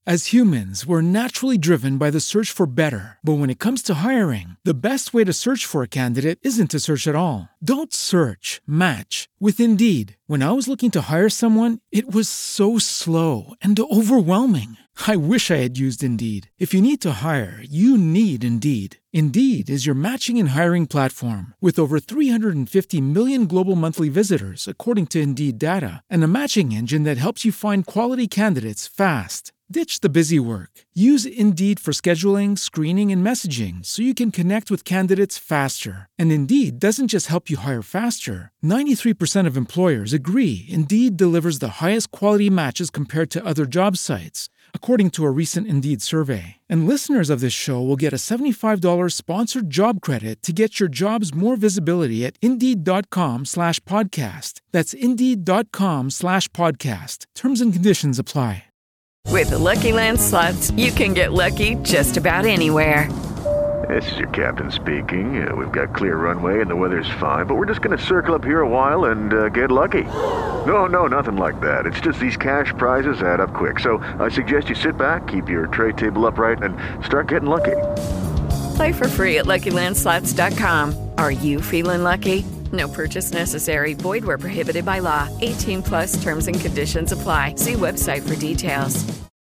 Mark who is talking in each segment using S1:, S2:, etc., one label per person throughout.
S1: As humans, we're naturally driven by the search for better. But when it comes to hiring, the best way to search for a candidate isn't to search at all. Don't search, match with Indeed. When I was looking to hire someone, it was so slow and overwhelming. I wish I had used Indeed. If you need to hire, you need Indeed. Indeed is your matching and hiring platform with over 350 million global monthly visitors, according to Indeed data, and a matching engine that helps you find quality candidates fast. Ditch the busy work. Use Indeed for scheduling, screening, and messaging so you can connect with candidates faster. And Indeed doesn't just help you hire faster. 93% of employers agree Indeed delivers the highest quality matches compared to other job sites, according to a recent Indeed survey. And listeners of this show will get a $75 sponsored job credit to get your jobs more visibility at Indeed.com/podcast. That's Indeed.com/podcast. Terms and conditions apply.
S2: With the Lucky Land Slots, you can get lucky just about anywhere.
S3: This is your captain speaking. We've got clear runway and the weather's fine, but we're just going to circle up here a while and get lucky. No, nothing like that. It's just these cash prizes add up quick. So I suggest you sit back, keep your tray table upright, and start getting lucky.
S2: Play for free at LuckyLandSlots.com. Are you feeling lucky? No purchase necessary. Void where prohibited by law. 18+ terms and conditions apply. See website for details.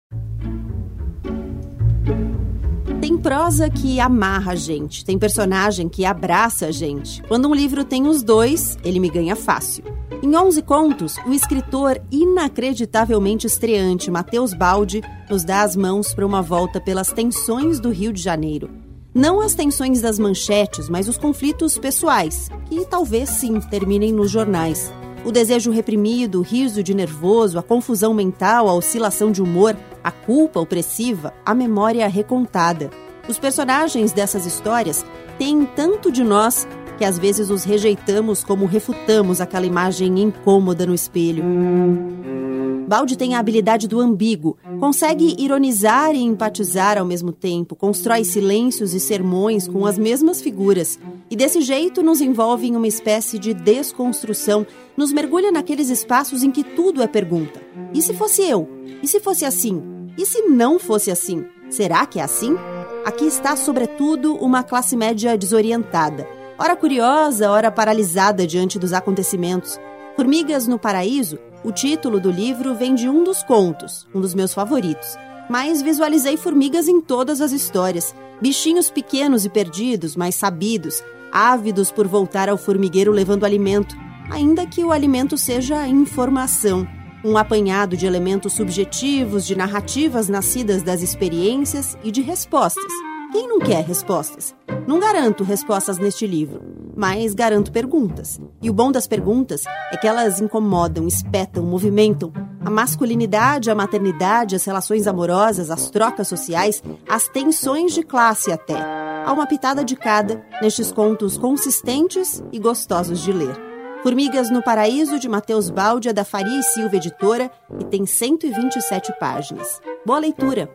S4: Tem prosa que amarra a gente, tem personagem que abraça a gente. Quando um livro tem os dois, ele me ganha fácil. Em 11 contos, o escritor inacreditavelmente estreante Matheus Baldi nos dá as mãos para uma volta pelas tensões do Rio de Janeiro. Não as tensões das manchetes, mas os conflitos pessoais, que talvez sim terminem nos jornais. O desejo reprimido, o riso de nervoso, a confusão mental, a oscilação de humor, a culpa opressiva, a memória recontada. Os personagens dessas histórias têm tanto de nós que às vezes os rejeitamos como refutamos aquela imagem incômoda no espelho. Baldi tem a habilidade do ambíguo, consegue ironizar e empatizar ao mesmo tempo, constrói silêncios e sermões com as mesmas figuras e desse jeito nos envolve em uma espécie de desconstrução, nos mergulha naqueles espaços em que tudo é pergunta. E se fosse eu? E se fosse assim? E se não fosse assim? Será que é assim? Aqui está, sobretudo, uma classe média desorientada, ora curiosa, ora paralisada diante dos acontecimentos. Formigas no Paraíso, o título do livro vem de um dos contos, um dos meus favoritos. Mas visualizei formigas em todas as histórias. Bichinhos pequenos e perdidos, mas sabidos, ávidos por voltar ao formigueiro levando alimento, ainda que o alimento seja informação. Um apanhado de elementos subjetivos, de narrativas nascidas das experiências e de respostas. Quem não quer respostas? Não garanto respostas neste livro, mas garanto perguntas. E o bom das perguntas é que elas incomodam, espetam, movimentam a masculinidade, a maternidade, as relações amorosas, as trocas sociais, as tensões de classe até. Há uma pitada de cada nestes contos consistentes e gostosos de ler. Formigas no Paraíso, de Matheus Baldi, é da Faria e Silva Editora e tem 127 páginas. Boa leitura!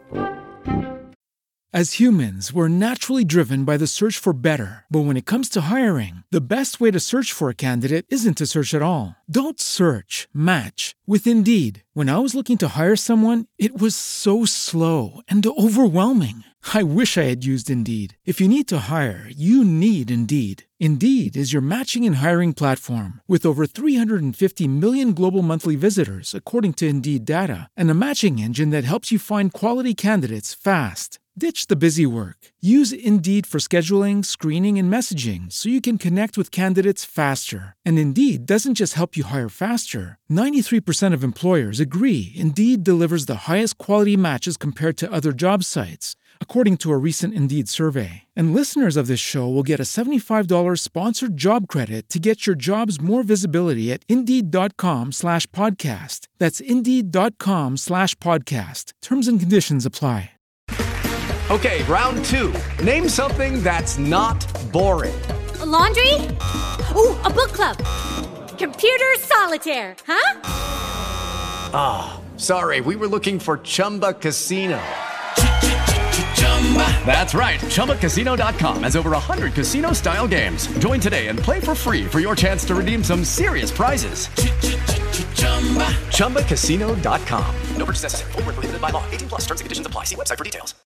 S1: As humans, we're naturally driven by the search for better. But when it comes to hiring, the best way to search for a candidate isn't to search at all. Don't search, match with Indeed. When I was looking to hire someone, it was so slow and overwhelming. I wish I had used Indeed. If you need to hire, you need Indeed. Indeed is your matching and hiring platform with over 350 million global monthly visitors, according to Indeed data, and a matching engine that helps you find quality candidates fast. Ditch the busy work. Use Indeed for scheduling, screening, and messaging so you can connect with candidates faster. And Indeed doesn't just help you hire faster. 93% of employers agree Indeed delivers the highest quality matches compared to other job sites, according to a recent Indeed survey. And listeners of this show will get a $75 sponsored job credit to get your jobs more visibility at Indeed.com/podcast. That's Indeed.com/podcast. Terms and conditions apply.
S5: Okay, round two. Name something that's not boring.
S6: A laundry? Ooh, a book club. Computer solitaire, huh?
S5: Ah, sorry, we were looking for Chumba Casino. That's right, ChumbaCasino.com has over 100 casino-style games. Join today and play for free for your chance to redeem some serious prizes. ChumbaCasino.com. No purchase necessary. Void where prohibited by law. 18+ terms and conditions apply. See website for details.